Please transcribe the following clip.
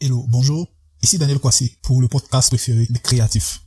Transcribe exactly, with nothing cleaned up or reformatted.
Hello, bonjour. Ici Daniel Kwasi pour le podcast préféré des créatifs.